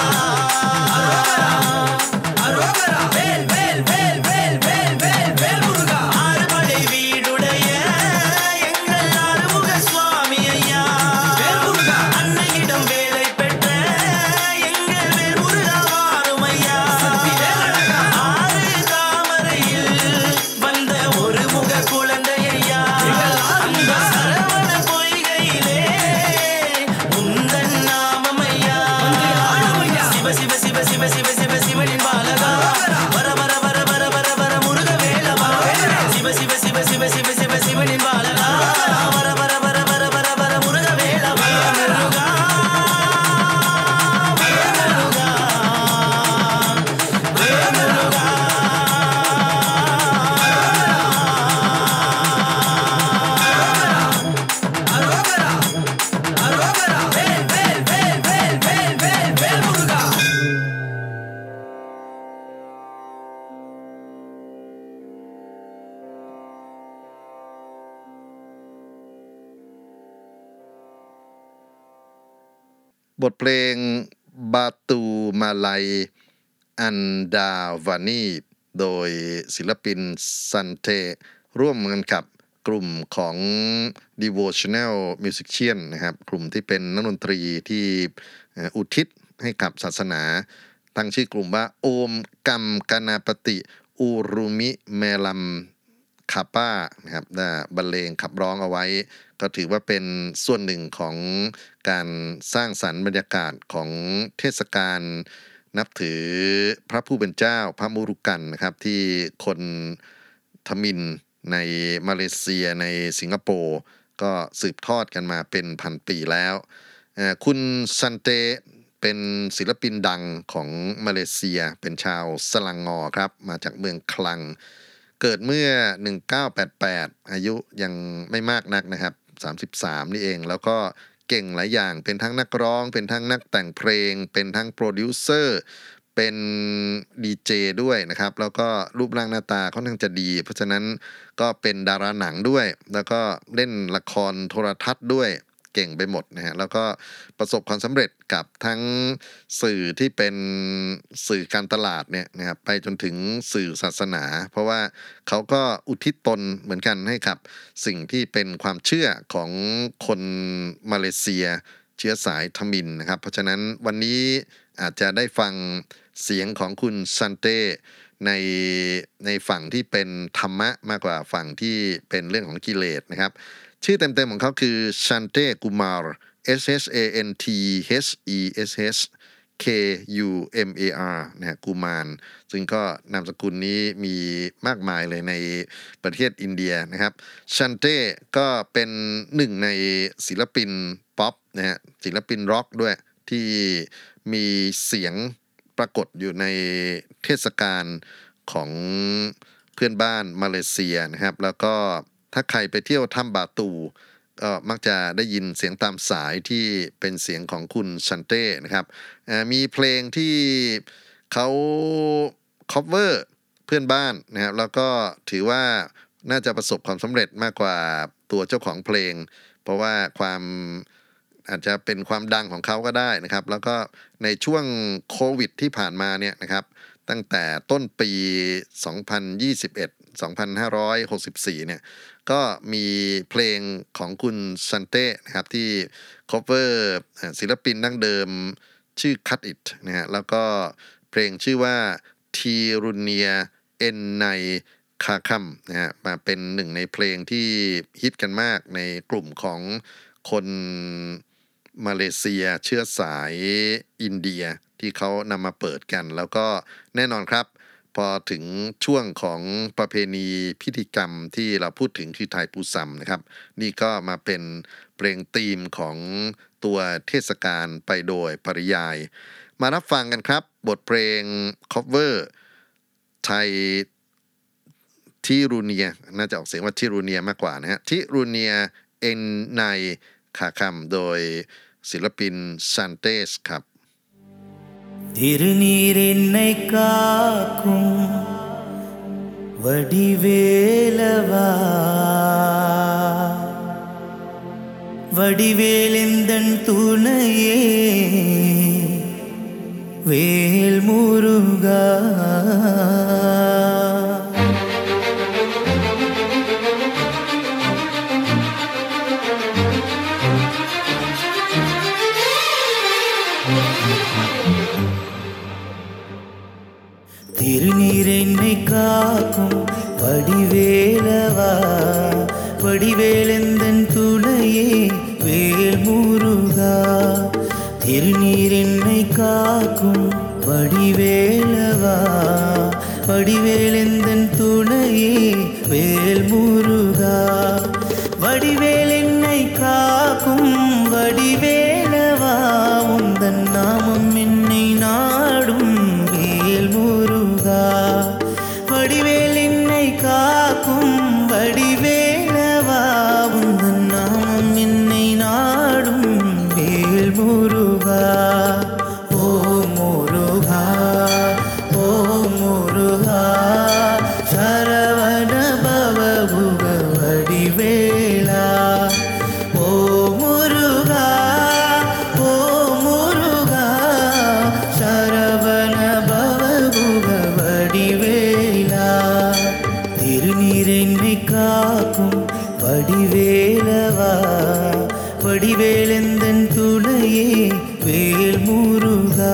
அரோகரா வேல் வேல் வேல் வேல் வேல் வேல் வேல் முருகா ஆறுபடை வீடுடைய எங்கள் ஆறுமுக சுவாமி ஐயா அன்னையிடம் வேலை பெற்ற எங்கள் வேல் முருகா வாரும் ஐயா ஆறு தாமரையில் வந்த ஒரு முக குழந்தை ஐயா அந்த சரவண பொய்கையிலே உந்தன் நாமம் ஐயா சிவ சிவ சிவ சிவ சிவ சிவ சிவனின் பாலகா வர வர வர வர வர வர முருக வேலவா சிவ சிவ சிவ சிவ சிவ சிவ சிவனின் பாலகா வர வர வர வர வர வர முருக வேலவா முருகா முருகா முருகா அரோகரா அரோகரா வேல் வேல் வேல் வேல் வேல் வேல் வேல் முருகா บทเพลงบาตูมาลัยอันดาวานีโดยศิลปินซันเทร่วมกันกับกลุ่มของ Devotional Musician นะครับกลุ่มที่เป็นนักดนตรีที่อุทิศให้กับศาสนาตั้งชื่อกลุ่มว่าโอมกัมกนาปติอูรุมิเมลัมคาป้านะครับได้บรรเลงขับร้องเอาไว้ก็ถือว่าเป็นส่วนหนึ่งของการสร้างสรรค์บรรยากาศของเทศกาลนับถือพระผู้เป็นเจ้าพระมุรุกันนะครับที่คนทมิฬในมาเลเซียในสิงคโปร์ก็สืบทอดกันมาเป็นพันปีแล้วคุณซันเตเป็นศิลปินดังของมาเลเซียเป็นชาวสลังงอครับมาจากเมืองคลังเกิดเมื่อ1988อายุยังไม่มากนักนะครับ33นี่เองแล้วก็เก่งหลายอย่างเป็นทั้งนักร้องเป็นทั้งนักแต่งเพลงเป็นทั้งโปรดิวเซอร์เป็นดีเจด้วยนะครับแล้วก็รูปร่างหน้าตาค่อนข้างจะดีเพราะฉะนั้นก็เป็นดาราหนังด้วยแล้วก็เล่นละครโทรทัศน์ด้วยเก่งไปหมดนะฮะแล้วก็ประสบความสำเร็จกับทั้งสื่อที่เป็นสื่อการตลาดเนี่ยนะครับไปจนถึงสื่อศาสนาเพราะว่าเขาก็อุทิศตนเหมือนกันให้กับสิ่งที่เป็นความเชื่อของคนมาเลเซียเชื้อสายทมิฬนะครับเพราะฉะนั้นวันนี้อาจจะได้ฟังเสียงของคุณซันเต้ในฝั่งที่เป็นธรรมะมากกว่าฝั่งที่เป็นเรื่องของกิเลสนะครับชื่อเต็มๆของเขาคือชันเต้กุมาร SHANTHESSนะฮะกุมารซึ่งก็นามสกุลนี้มีมากมายเลยในประเทศอินเดียนะครับชันเต้ก็เป็นหนึ่งในศิลปินป๊อปนะฮะศิลปินร็อกด้วยที่มีเสียงปรากฏอยู่ในเทศกาลของเพื่อนบ้านมาเลเซียนะครับแล้วก็ถ้าใครไปเที่ยวถ้ำบาตูก็มักจะได้ยินเสียงตามสายที่เป็นเสียงของคุณชันเต้นะครับมีเพลงที่เขาcover เพื่อนบ้านนะครับแล้วก็ถือว่าน่าจะประสบความสำเร็จมากกว่าตัวเจ้าของเพลงเพราะว่าความอาจจะเป็นความดังของเขาก็ได้นะครับแล้วก็ในช่วงโควิดที่ผ่านมาเนี่ยนะครับตั้งแต่ต้นปี 2564 เนี่ยก็มีเพลงของคุณซันเต้นะครับที่ cover ศิลปินดั้งเดิมชื่อ Cut It นะฮะแล้วก็เพลงชื่อว่าทีรุเนียเอ็นไนคาคัมนะฮะมาเป็นหนึ่งในเพลงที่ฮิตกันมากในกลุ่มของคนมาเลเซียเชื้อสายอินเดียที่เขานำมาเปิดกันแล้วก็แน่นอนครับพอถึงช่วงของประเพณีพิธีกรรมที่เราพูดถึงคือไทยปูซัมนะครับนี่ก็มาเป็นเพลงธีมของตัวเทศกาลไปโดยปริยายมารับฟังกันครับบทเพลง cover ไทยทิรูเนียน่าจะออกเสียงว่าทิรูเนียมากกว่านะฮะทิรูเนียเอ็นไนคาคัมโดยศิลปินซันเตสครับ திருநீர் என்னை காக்கும் வடிவேலவா வடிவேலெந்தன் துணையே வேல் முருகா திருநீர் என்னை காக்கும் வடிவேலவா வடிவேலெந்தன் துணையே வேல் முருகா திருநீர் என்னை காக்கும் வடிவேலவா வடிவேலெந்தன் துணையே வேல் முருகா வடிவேல் என்னை காக்கும் வடிவேலவா உந்தன் நாமம் என்னை நாடும் வேல் முருகா வடிவேல் என்னை காக்கும் வடிவேலவா உந்தன் நாமம் என்னை நாடும் வேல் முருகா ஓ முருகா ஓ முருகா சரவண பவகுக வடிவேலா ஓ முருகா ஓ முருகா சரவண பவகுக வடிவேலா திருநீர் என்னை காக்கும் வடிவேலவா வடிவேலெந்தன் துணையே வேல் முருகா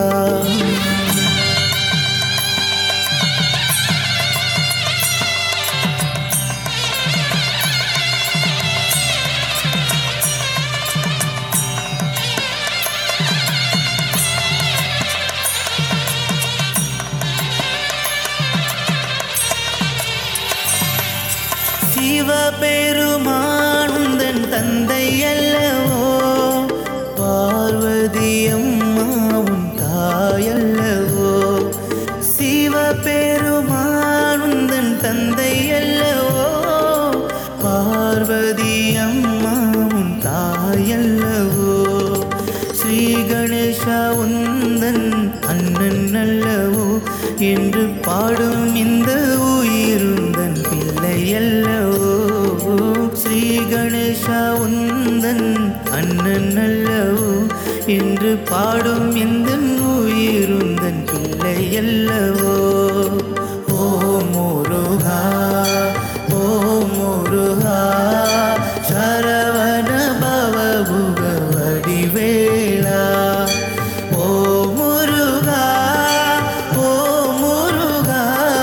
சிவபெருமானுந்தன் தந்தை அல்லவோ பார்வதி அம்மாவும் தாயல்லவோ சிவபெருமானுந்தன் தந்தை அல்லவோ பார்வதி அம்மாவும் தாயல்லவோ ஸ்ரீ கணேசா உந்தன் அண்ணன் அல்லவோ என்று பாடும் இந்த உயிருந்தன் பிள்ளை அல்லவோ ஸ்ரீ கணேசா உந்தன் அண்ணன் அல்லவோ என்று பாடும் இந்த உயிருந்தன் பிள்ளை அல்லவோ ஓ முருகா ஓ முருகா சரவண பவகுக வடிவேலா ஓ முருகா ஓ முருகா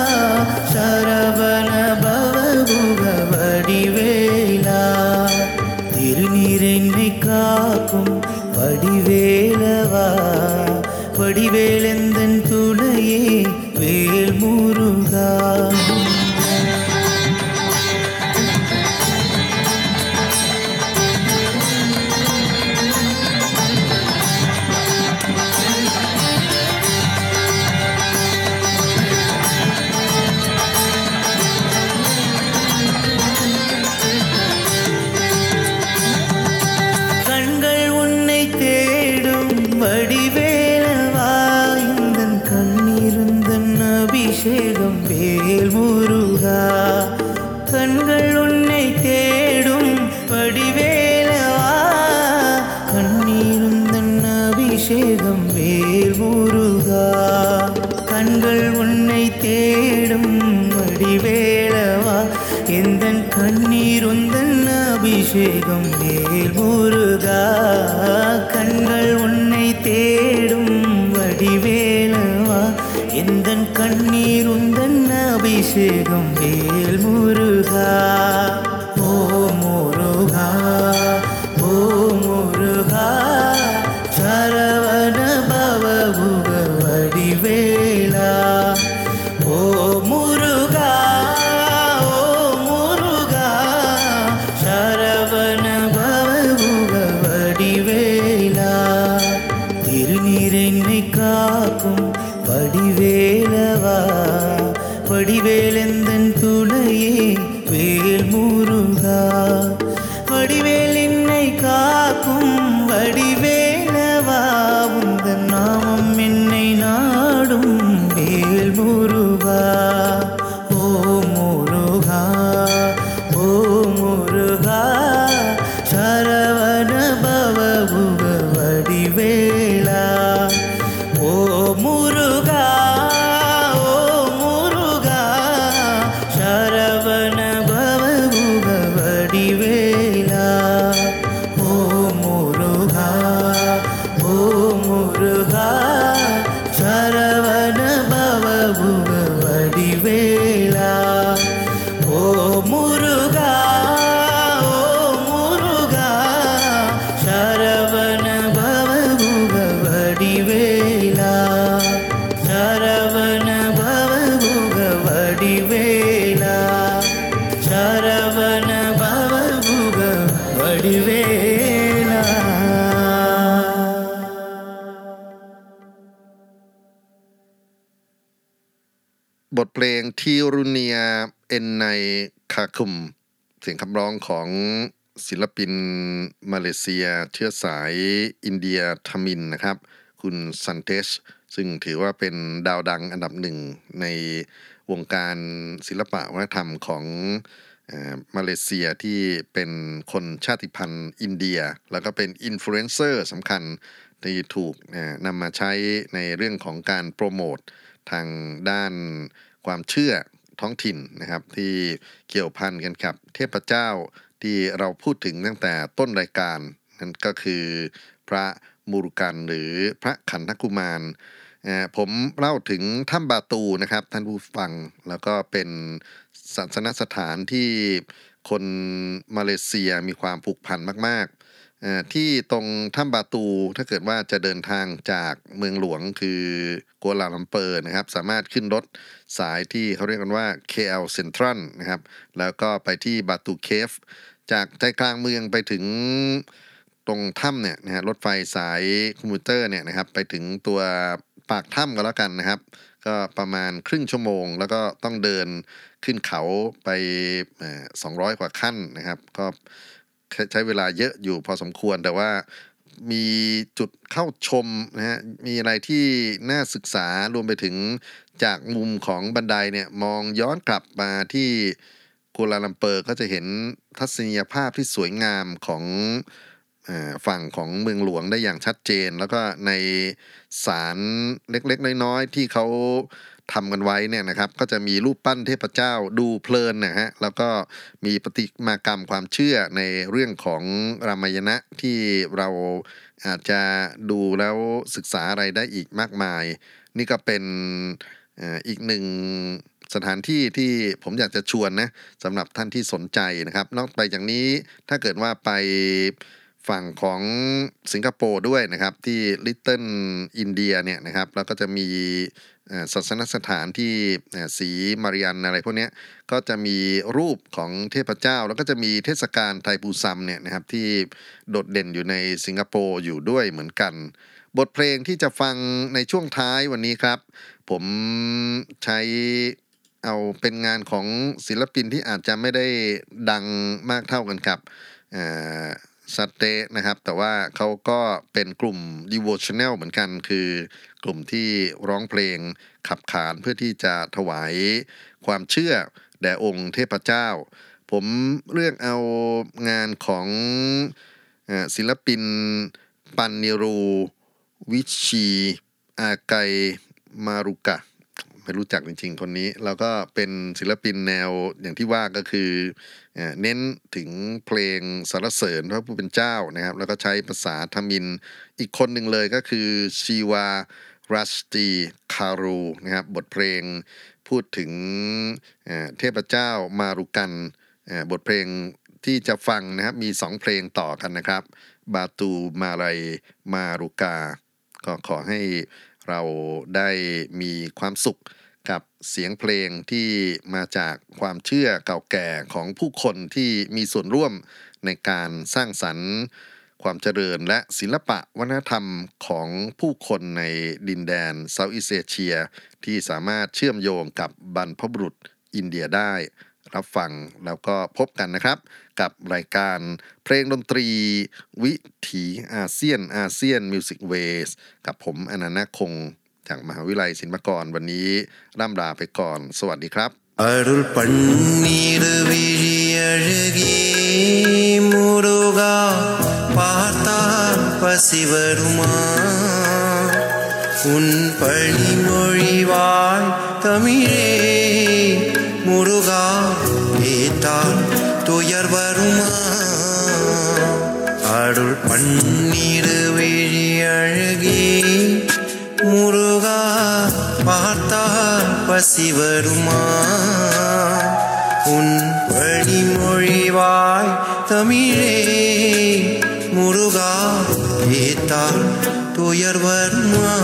சரவண பவகுக வடிவேலா திருநீர் என்னை காக்கும் வடிவேலவா வடிவேலெந்தன் துணையே வேல் முருகா வேல் முருகா கண்கள் உன்னை தேடும் வடிவேலவா கண்ணீருந்தன் அபிஷேகம் வேல் முருகா கண்கள் உன்னை தேடும் வடிவேலவா எந்தன் கண்ணீருந்தன் அபிஷேகம் வேல் முருகா கண்கள் உன்னை தேடும் வடிவேலவா எந்தன் கண்ணீருந்தன் அபிஷேகம் வேல் முருகா ஓ முருகா ஓ முருகா சரவண பவபுக வடிவேலா ஓ முருகா ஓ முருகா சரவண பவபுக வடிவேலா திருநீரென்னை காக்கும் வடிவேலவா வடிவேலெந்தன் துணையே வேல் முருகா வடிவேல் என்னை காக்கும் வடிவேலவா உந்தன் நாமம் என்னை நாடும் வேல் முருகா ஓ முருகா ஓ முருகா சரவண பவபுக வடிவேலா ஓ முருகா ஓ முருகா சரவண பவபுக வடிவேலா ஓ முருகா ஓ முருகா சரவண பவபுக வடிவேலா ஓ முருகா ஓ முருகா சரவண பவபுக வடிவேலா சரவண பவபுக வடிவேலா சரவண பவபுக வடிவேலா บทเพลงทีรุเนียเอ็นไนคาคุมเสียงคำร้องของศิลปินมาเลเซียเชื้อสายอินเดียทามินนะครับคุณซันเทชซึ่งถือว่าเป็นดาวดังอันดับหนึ่งในวงการศิลปะวัฒนธรรมของมาเลเซียที่เป็นคนชาติพันธุ์อินเดียแล้วก็เป็นอินฟลูเอนเซอร์สำคัญที่ถูกนำมาใช้ในเรื่องของการโปรโมททางด้านความเชื่อท้องถิ่นนะครับที่เกี่ยวพันกันกับเทพเจ้าที่เราพูดถึงตั้งแต่ต้นรายการนั่นก็คือพระมูรุกันหรือพระขันธกุมารผมเล่าถึงถ้ำบาตูนะครับท่านผู้ฟังแล้วก็เป็นศาสนสถานที่คนมาเลเซียมีความผูกพันมากๆที่ตรงถ้ำบาตูถ้าเกิดว่าจะเดินทางจากเมืองหลวงคือกัวลาลัมเปอร์นะครับสามารถขึ้นรถสายที่เขาเรียกกันว่า KL Central นะครับแล้วก็ไปที่บาตูเคฟจากใจกลางเมืองไปถึงตรงถ้ำเนี่ยนะฮะรถไฟสายคอมมิวเตอร์เนี่ยนะครับไปถึงตัวปากถ้ำก็แล้วกันนะครับก็ประมาณครึ่งชั่วโมงแล้วก็ต้องเดินขึ้นเขาไป200 กว่าขั้นนะครับก็ใช้เวลาเยอะอยู่พอสมควรแต่ว่ามีจุดเข้าชมนะฮะมีอะไรที่น่าศึกษารวมไปถึงจากมุมของบันไดเนี่ยมองย้อนกลับมาที่กัวลาลัมเปอร์ก็จะเห็นทัศนียภาพที่สวยงามของฝั่งของเมืองหลวงได้อย่างชัดเจนแล้วก็ในศาลเล็กๆน้อยๆที่เขาทำกันไว้เนี่ยนะครับก็จะมีรูปปั้นเทพเจ้าดูเพลินนะฮะแล้วก็มีประติมากรรมความเชื่อในเรื่องของรามายณะที่เราอาจจะดูแล้วศึกษาอะไรได้อีกมากมายนี่ก็เป็นอีกหนึ่งสถานที่ที่ผมอยากจะชวนนะสำหรับท่านที่สนใจนะครับนอกไปจากนี้ถ้าเกิดว่าไปฝั่งของสิงคโปร์ด้วยนะครับที่ลิตเติ้ลอินเดียเนี่ยนะครับแล้วก็จะมีศาสนสถานที่สีมาริยันอะไรพวกนี้ก็จะมีรูปของเทพเจ้าแล้วก็จะมีเทศกาลไทปูซัมเนี่ยนะครับที่โดดเด่นอยู่ในสิงคโปร์อยู่ด้วยเหมือนกันบทเพลงที่จะฟังในช่วงท้ายวันนี้ครับผมใช้เอาเป็นงานของศิลปินที่อาจจะไม่ได้ดังมากเท่ากันกับซัตเตนะครับแต่ว่าเขาก็เป็นกลุ่ม devotional เหมือนกันคือกลุ่มที่ร้องเพลงขับขานเพื่อที่จะถวายความเชื่อแด่องค์เทพเจ้าผมเลือกเอางานของศิลปินปันนิรูวิชีอาไกมารุกะไม่รู้จักจริงๆคนนี้แล้วก็เป็นศิลปินแนวอย่างที่ว่าก็คือเน้นถึงเพลงสรรเสริญพระผู้เป็นเจ้านะครับแล้วก็ใช้ภาษาทมิฬอีกคนหนึ่งเลยก็คือชีวารัสตีคารูนะครับบทเพลงพูดถึงเทพเจ้ามารุกันบทเพลงที่จะฟังนะครับมี2เพลงต่อกันนะครับบาตูมาไรมารุกาก็ขอให้เราได้มีความสุขกับเสียงเพลงที่มาจากความเชื่อเก่าแก่ของผู้คนที่มีส่วนร่วมในการสร้างสรรค์ความเจริญและศิลปะวัฒนธรรมของผู้คนในดินแดนเซาท์อีสต์เอเชียที่สามารถเชื่อมโยงกับบรรพบุรุษอินเดียได้รับฟังแล้วก็พบกันนะครับกับรายการเพลงดนตรีวิถีอาเซียนมิวสิกเวสกับผมอนันต์คงจากมหาวิทยาลัยศิลปากรวันนี้ร่ำลาไปก่อนสวัสดีครับ அருள் பன்னீர் விழியழகே முருகா பார்த்தால் பசி வருமா உன் பழிமொழிவாய் தமிழே முருகா கேட்டால் துயர் வருமா அருள் பன்னீர் விழியழகே முருகா பார்த்தால் பசி வருமா உன் வழிமொழிவாய் தமிழே முருகா கேட்டால் துயர் வருமா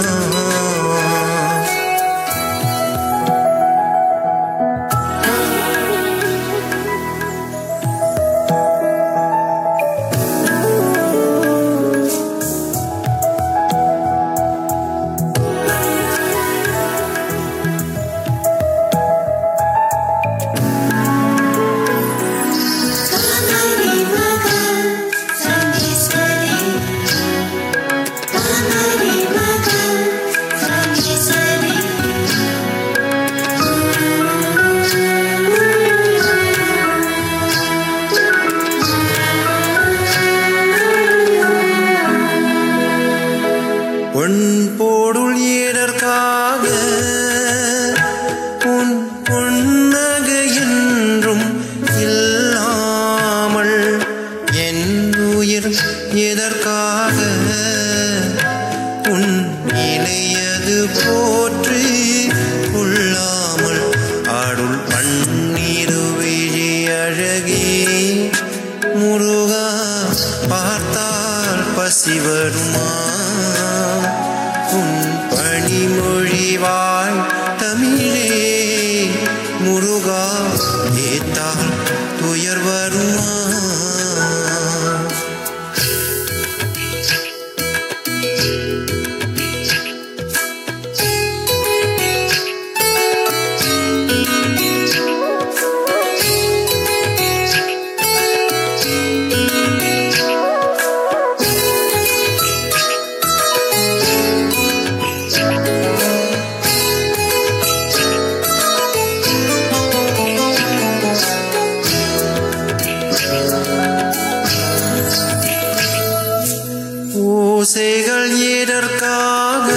ஓசைகள் எதற்காக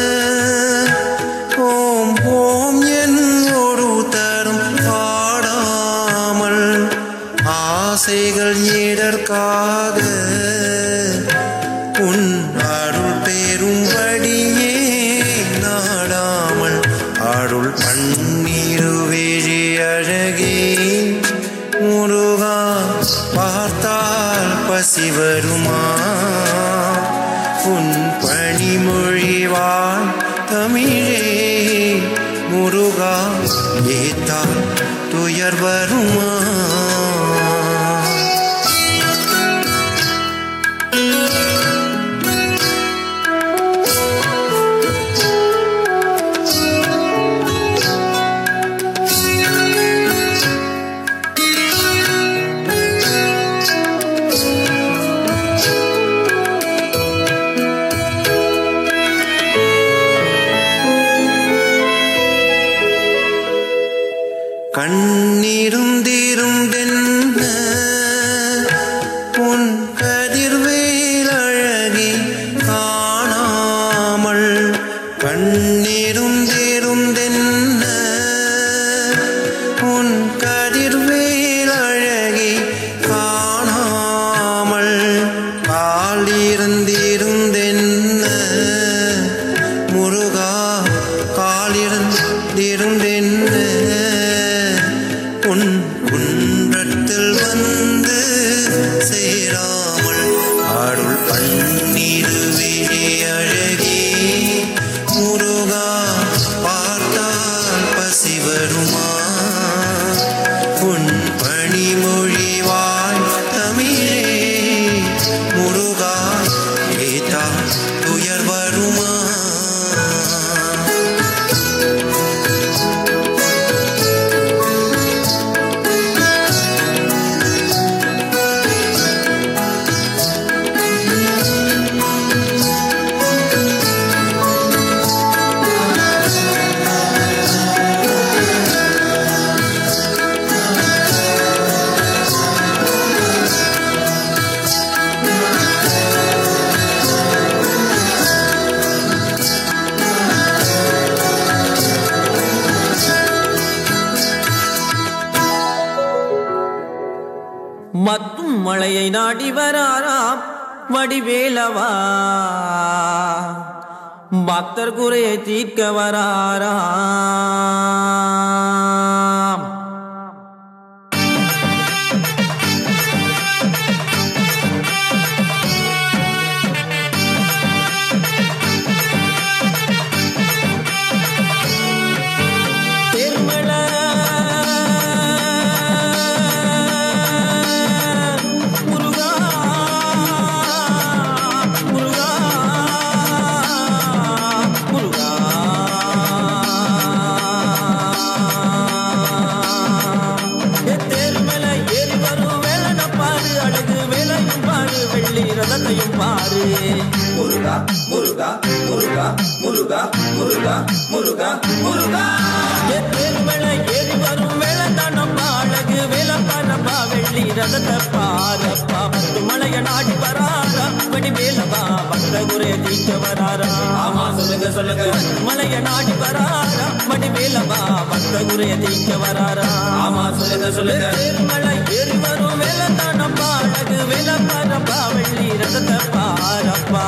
ஓம் ஓம் என்னோடு தரும் பாடாமல் ஆசைகள் எதற்காக உன் அருள் பெறும்படியே நாடாமல் அருள் பன்னீருவிழி அழகே முருகா பார்த்தால் பசி வருமா உன் பணிமொழிவாய் தமிழே முருகா ஏத்தால் துயர் வருமா கண்ணிருந்திருந்தென்ன உன் கதிர்வேல் அழகி காணாமல் கண்ணிருந்திருந்தென்ன உன் கதிர்வேல் அழகி காணாமல் காலிருந்திருந்தென்ன முருகா காலிருந்திருந்தென்ன உன் குன்றத்தில் வந்து சேராமல் அருள் பன்னிருவே அழகே முருகா பார்த்தால் பசி வருமா உன் பணிமொழி வாழ் தமிழே முருகா கேட்டால் துயர் வருமா மத்தும் மழையை நாடி வராராம் வடிவேலவா பக்தர் குறையை தீர்க்க வராராம் முருகா முருகா முருகா முருகா முருகா முருகா முருகா ஏறுமலை ஏறி வரும் வேளந்தானப்பா அழகு வேலப்பானப்பா வெள்ளி ரதத்தை பாரப்பா பத்து மலைய நாடி வராரா படி வேலவா பக்த குறைய தீர்க்க வராரா ஆமா சொல்லுங்க சொல்லுங்க மலைய நாடி வராரா படி வேலவா பக்த குறைய தீர்க்க வராரா ஆமா சொல்லுங்க சொல்லுங்க ஏறுமலை ஏறி வரும் வேளந்தானப்பா அழகு வேலப்பானப்பா வெள்ளி ரதத்தை பாரப்பா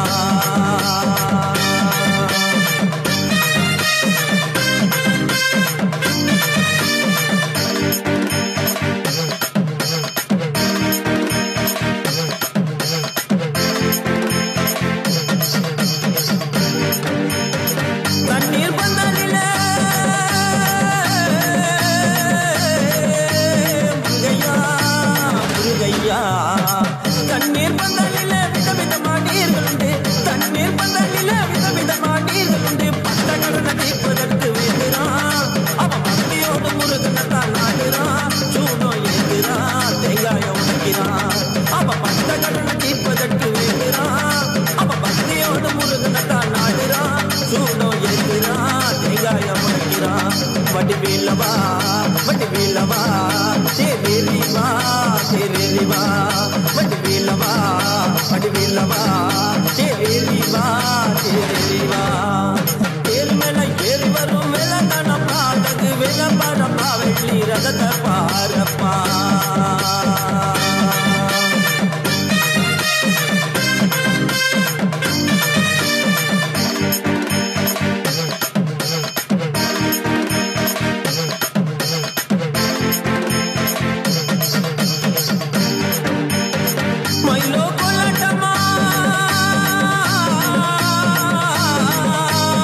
வடிவேலவா வடிவேலவா தேவேலிவா தேவேலிவா வடிவேலவா வடிவேலவா தேவேலிவா தேவேலிவா ஏறுமலை ஏறி வரும் வேலந்தானப்பா அழகு வேலப்பானப்பா வெள்ளி ரதத்தை பாரப்பா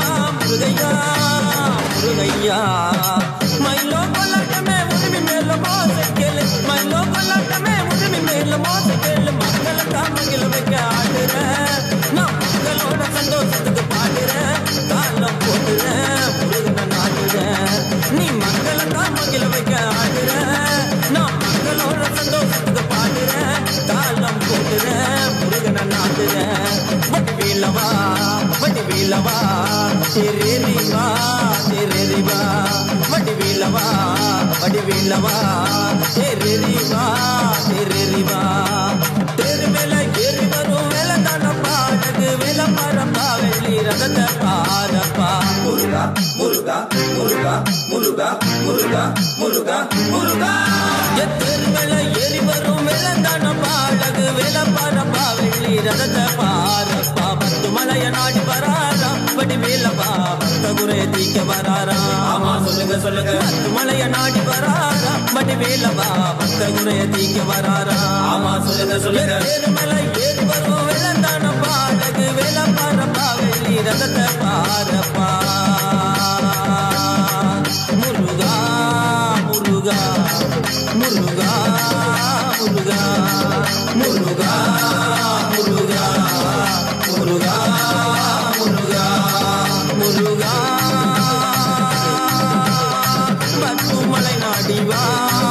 மயிலோ கொல்லட்டமே உரிமை மேல தேரேரிவா தேரேரிவா வடிவேலவா வடிவேலவா தேரேரிவா தேரேரிவா தேர் மேல ஏறி வரும் வேலந்தான பாடகு வேல பாரப்பா வெள்ளி ரதத்தை பாரப்பா முருகா முருகா முருகா முருகா முருகா முருகா முருகா தேர் மேல ஏறி வரும் வேலந்தான பாடகு வேல பாரப்பா வெள்ளி ரதத்தை பாரப்பா பத்து மலைய நாடி வராரா வடிவேலவா பக்த குறை தீக்க வராரா ஆமா சொல்லுங்க சொல்லுங்க பத்து மலைய நாடி வராரா வடிவேலவா பக்த குறை தீக்க வராரா ஆமா சொல்லுங்க சொல்லுங்க தேர் மேல ஏறி வரும் வேலந்தான பாடகு வேல பாரப்பா வெள்ளி ரதத்தை பாரப்பா முருகா முருகா முருகா முருகா முருகா முருகா முருகா முருகா முருகா பத்துமலை நாடிவா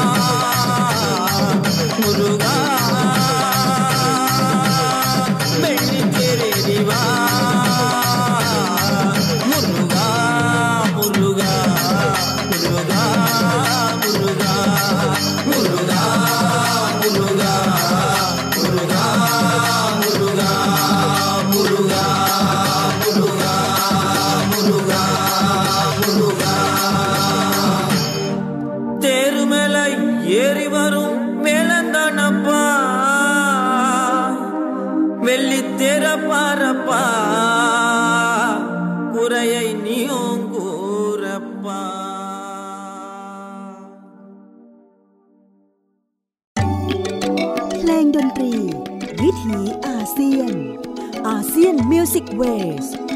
முருகா வெள்ளி தேரேறிவா முருகா முருகா முருகா முருகா முருகா முருகா முருகா முருகா முருகா முருகா முருகா முருகா தேரு மேல ஏறி வரும் மேலந்தானப்பா வெள்ளி தேர பாரப்பா குறையை நீயும் கூறப்பா เพลงดนตรีวิถีอาเซียนอาเซียนมิวสิกเวส